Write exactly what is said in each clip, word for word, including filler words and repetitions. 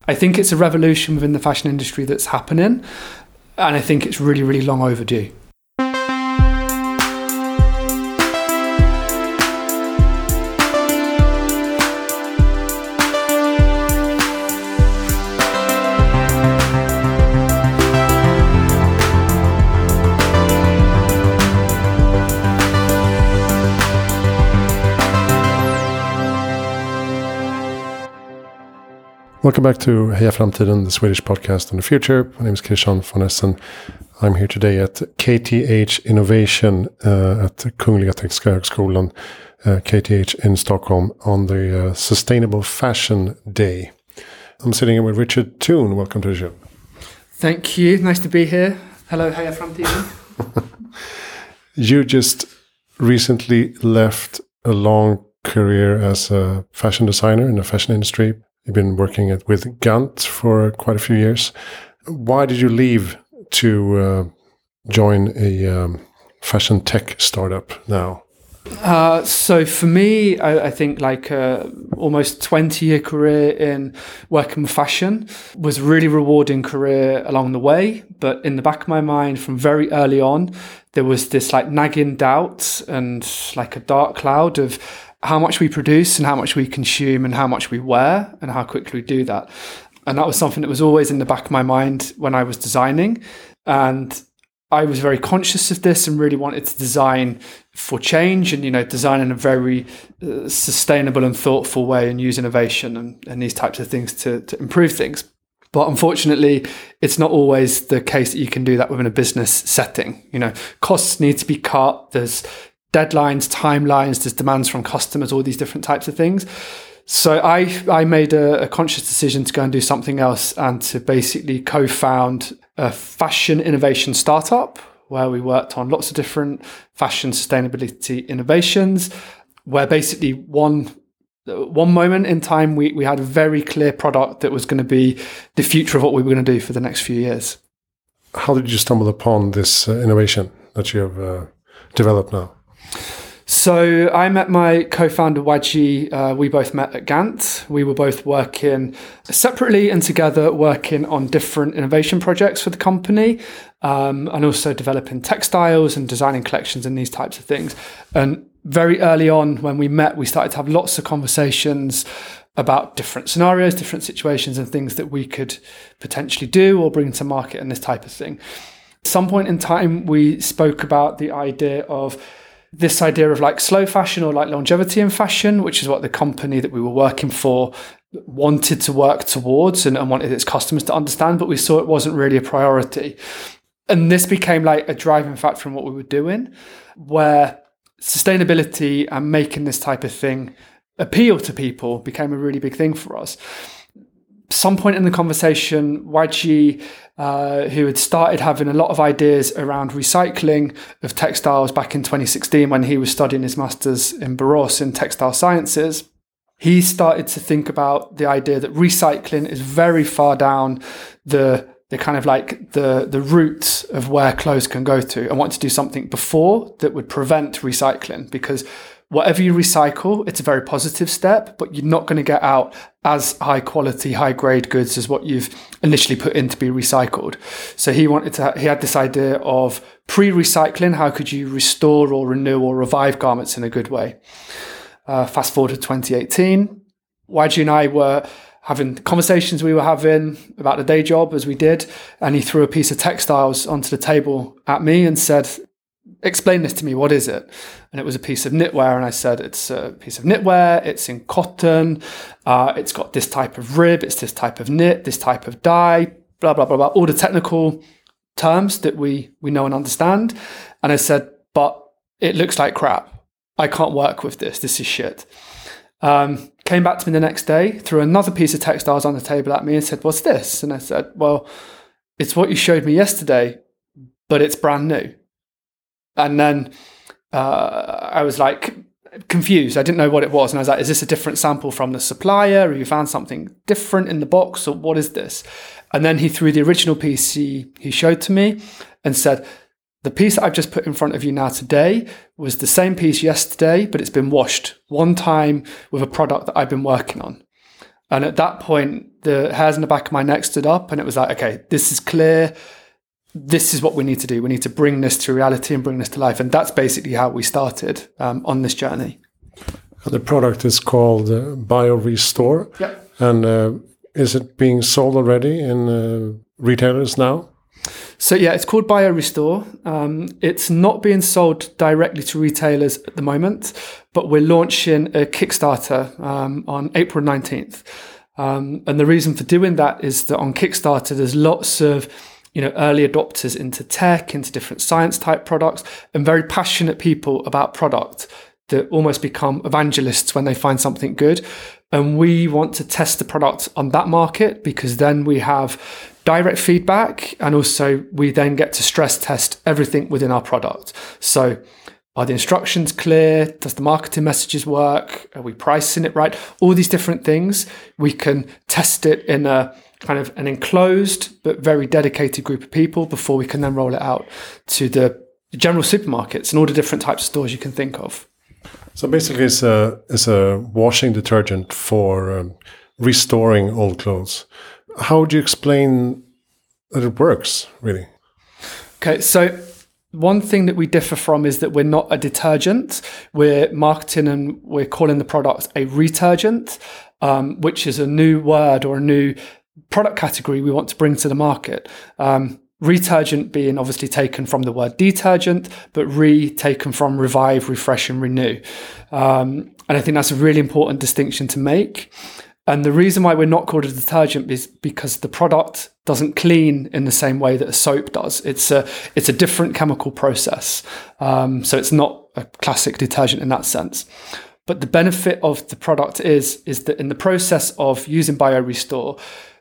I think it's a revolution within the fashion industry that's happening, and I think it's really, really long overdue. Welcome back to Heja Framtiden, the Swedish podcast on the future. My name is Christian von Essen. I'm here today at K T H Innovation uh, at Kungliga Tekniska Högskolan, uh, K T H in Stockholm, on the uh, Sustainable Fashion Day. I'm sitting here with Richard Toon. Welcome to the show. Thank you. Nice to be here. Hello, Heja Framtiden. You just recently left a long career as a fashion designer in the fashion industry. You've been working at, with Gant for quite a few years. Why did you leave to uh, join a um, fashion tech startup now? Uh, so for me, I, I think like a almost twenty year career in working with fashion was a really rewarding career along the way. But in the back of my mind from very early on, there was this like nagging doubt and like a dark cloud of how much we produce and how much we consume and how much we wear and how quickly we do that. And that was something that was always in the back of my mind when I was designing. And I was very conscious of this and really wanted to design for change and, you know, design in a very uh, sustainable and thoughtful way and use innovation and, and these types of things to, to improve things. But unfortunately, it's not always the case that you can do that within a business setting. You know, costs need to be cut. There's deadlines, timelines, there's demands from customers, all these different types of things. So I I made a, a conscious decision to go and do something else and to basically co-found a fashion innovation startup where we worked on lots of different fashion sustainability innovations, where basically one one moment in time we, we had a very clear product that was going to be the future of what we were going to do for the next few years. How did you stumble upon this uh, innovation that you have uh, developed now? So I met my co-founder Wadji. Uh, we both met at Gant. We were both working separately and together, working on different innovation projects for the company, um, and also developing textiles and designing collections and these types of things. And very early on when we met, we started to have lots of conversations about different scenarios, different situations and things that we could potentially do or bring to market and this type of thing. At some point in time, we spoke about the idea of this idea of like slow fashion or like longevity in fashion, which is what the company that we were working for wanted to work towards and, and wanted its customers to understand, but we saw it wasn't really a priority. And this became like a driving factor in what we were doing, where sustainability and making this type of thing appeal to people became a really big thing for us. Some point in the conversation, Wadji, uh, who had started having a lot of ideas around recycling of textiles back in twenty sixteen when he was studying his master's in Borås in textile sciences, he started to think about the idea that recycling is very far down the the kind of like the the route of where clothes can go to, and wanted to do something before that would prevent recycling, because whatever you recycle, it's a very positive step, but you're not going to get out as high quality, high grade goods as what you've initially put in to be recycled. So he wanted to, he had this idea of pre-recycling. How could you restore or renew or revive garments in a good way? Uh, fast forward to twenty eighteen, Wadji and I were having conversations we were having about the day job as we did, and he threw a piece of textiles onto the table at me and said, explain this to me, what is it? And it was a piece of knitwear, and I said, it's a piece of knitwear, it's in cotton, uh, it's got this type of rib, it's this type of knit, this type of dye, blah, blah, blah, blah, all the technical terms that we, we know and understand. And I said, but it looks like crap. I can't work with this, this is shit. Um, came back to me the next day, threw another piece of textiles on the table at me and said, what's this? And I said, well, it's what you showed me yesterday, but it's brand new. And then uh, I was like confused. I didn't know what it was. And I was like, is this a different sample from the supplier? Or you found something different in the box? Or what is this? And then he threw the original piece he, he showed to me and said, the piece that I've just put in front of you now today was the same piece yesterday, but it's been washed one time with a product that I've been working on. And at that point, the hairs in the back of my neck stood up and it was like, okay, this is clear. This is what we need to do. We need to bring this to reality and bring this to life. And that's basically how we started um, on this journey. The product is called uh, BioRestore. Yep. And uh, is it being sold already in uh, retailers now? So yeah, it's called BioRestore. Um, it's not being sold directly to retailers at the moment, but we're launching a Kickstarter um, on April nineteenth. Um, and the reason for doing that is that on Kickstarter, there's lots of you know, early adopters into tech, into different science type products, and very passionate people about product that almost become evangelists when they find something good. And we want to test the product on that market because then we have direct feedback, and also we then get to stress test everything within our product. So are the instructions clear? Does the marketing messages work? Are we pricing it right? All these different things. We can test it in a kind of an enclosed but very dedicated group of people before we can then roll it out to the general supermarkets and all the different types of stores you can think of. So basically it's a, it's a washing detergent for um, restoring old clothes. How would you explain that it works, really? Okay, so one thing that we differ from is that we're not a detergent. We're marketing and we're calling the product a returgent, um, which is a new word or a new product category we want to bring to the market. Um, returgent being obviously taken from the word detergent, but re taken from revive, refresh, and renew. Um, and I think that's a really important distinction to make. And the reason why we're not called a detergent is because the product doesn't clean in the same way that a soap does. It's a it's a different chemical process. Um, so it's not a classic detergent in that sense. But the benefit of the product is, is that in the process of using BioRestore,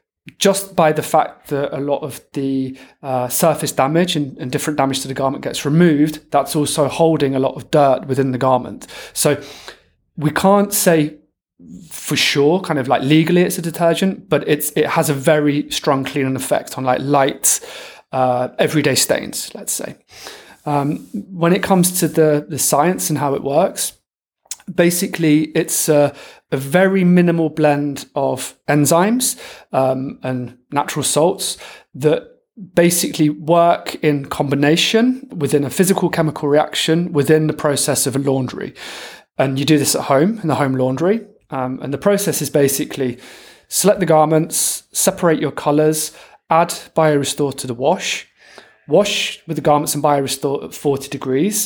just by the fact that a lot of the uh, surface damage and, and different damage to the garment gets removed, that's also holding a lot of dirt within the garment. So we can't say for sure, kind of like legally it's a detergent, but it's it has a very strong cleaning effect on like light, uh, everyday stains, let's say. Um, when it comes to the, the science and how it works, basically it's a, a very minimal blend of enzymes um, and natural salts that basically work in combination within a physical chemical reaction within the process of a laundry. And you do this at home in the home laundry. Um, and the process is basically select the garments, separate your colours, add BioRestore to the wash, wash with the garments in BioRestore at forty degrees.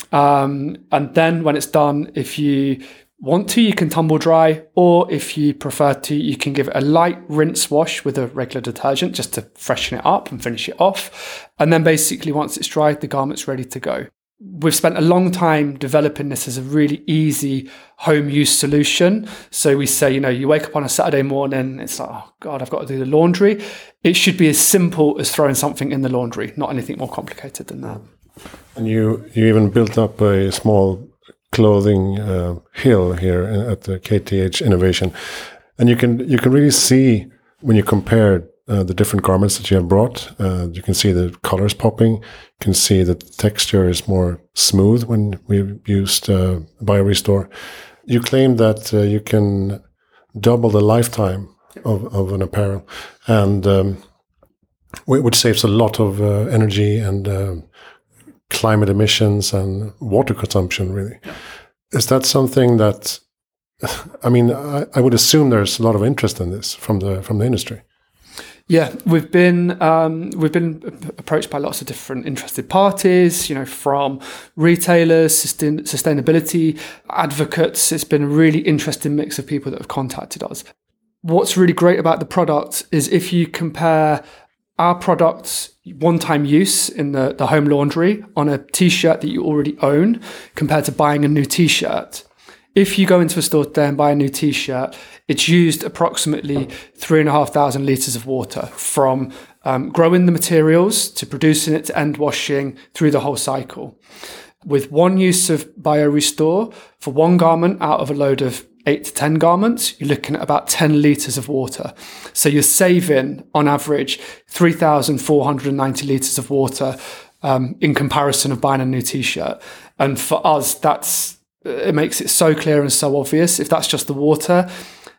Um, and then when it's done, if you want to, you can tumble dry, or if you prefer to, you can give it a light rinse wash with a regular detergent just to freshen it up and finish it off. And then basically once it's dried, the garment's ready to go. We've spent a long time developing this as a really easy home use solution. So we say, you know, you wake up on a Saturday morning, it's like, oh God, I've got to do the laundry. It should be as simple as throwing something in the laundry, not anything more complicated than that. And you, you even built up a small clothing uh, hill here at the K T H Innovation. And you can, you can really see when you compare Uh, the different garments that you have brought. Uh, you can see the colors popping. You can see the texture is more smooth when we used uh, BioRestore. You claim that uh, you can double the lifetime of, of an apparel, and um, which saves a lot of uh, energy and uh, climate emissions and water consumption, really. Is that something that, I mean, I, I would assume there's a lot of interest in this from the from the industry. Yeah, we've been um, we've been approached by lots of different interested parties, you know, from retailers, sustain, sustainability advocates. It's been a really interesting mix of people that have contacted us. What's really great about the product is if you compare our product's one-time use in the, the home laundry on a T-shirt that you already own compared to buying a new T-shirt. If you go into a store today and buy a new T-shirt, it's used approximately three and a half thousand litres of water from um, growing the materials to producing it to end washing through the whole cycle. With one use of BioRestore, for one garment out of a load of eight to ten garments, you're looking at about ten litres of water. So you're saving, on average, three thousand four hundred ninety litres of water um, in comparison of buying a new T-shirt. And for us, that's it makes it so clear and so obvious. If that's just the water,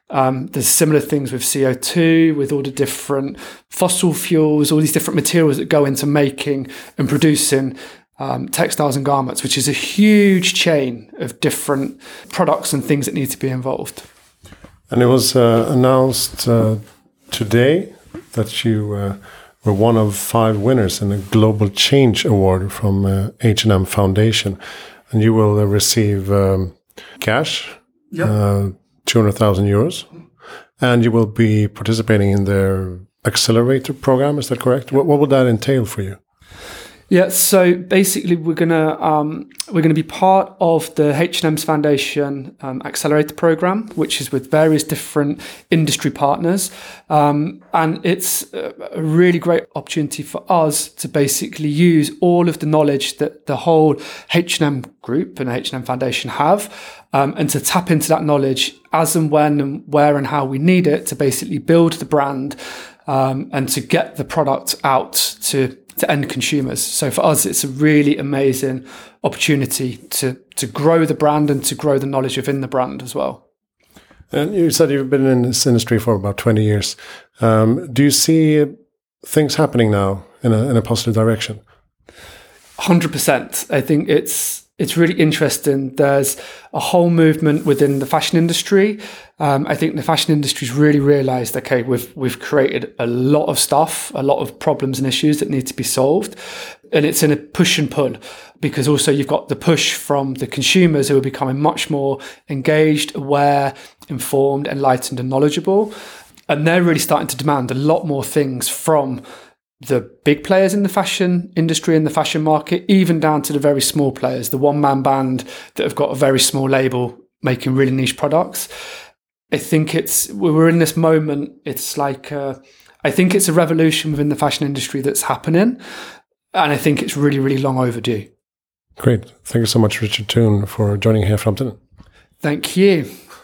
Um, there's similar things with C O two, with all the different fossil fuels, all these different materials that go into making and producing um, textiles and garments, which is a huge chain of different products and things that need to be involved. And it was uh, announced uh, today that you uh, were one of five winners in the Global Change Award from uh, H and M Foundation. And you will uh, receive um, cash, yep. uh, two hundred thousand euros, and you will be participating in their accelerator program. Is that correct? What, what would that entail for you? Yeah, so basically, we're gonna um, we're gonna be part of the H and M's Foundation um, Accelerator Program, which is with various different industry partners, um, and it's a really great opportunity for us to basically use all of the knowledge that the whole H and M group and H and M Foundation have, um, and to tap into that knowledge as and when and where and how we need it to basically build the brand um, and to get the product out to. to end consumers. So for us, it's a really amazing opportunity to to grow the brand and to grow the knowledge within the brand as well. And you said you've been in this industry for about twenty years. Um, do you see things happening now in a in a positive direction? one hundred percent. I think it's it's really interesting. There's a whole movement within the fashion industry. Um, I think the fashion industry's really realised, okay, we've we've created a lot of stuff, a lot of problems and issues that need to be solved, and it's in a push and pull, because also you've got the push from the consumers who are becoming much more engaged, aware, informed, enlightened, and knowledgeable, and they're really starting to demand a lot more things from the big players in the fashion industry and the fashion market, even down to the very small players, the one-man band that have got a very small label making really niche products. I think it's, we're in this moment, it's like, uh, I think it's a revolution within the fashion industry that's happening. And I think it's really, really long overdue. Great. Thank you so much, Richard Toon, for joining Heja Framtiden. Thank you.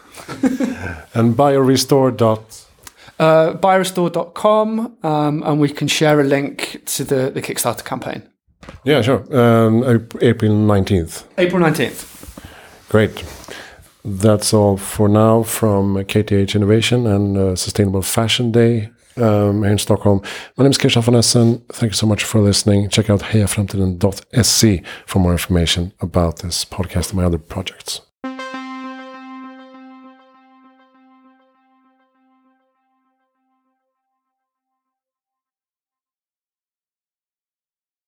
And biorestore dot Uh, biorestore dot com, um, and we can share a link to the, the Kickstarter campaign. Yeah, sure. Um, April nineteenth. April nineteenth. Great. That's all for now from K T H Innovation and uh, Sustainable Fashion Day um, here in Stockholm. My name is Christian von Essen. Thank you so much for listening. Check out heja framtiden dot se for more information about this podcast and my other projects.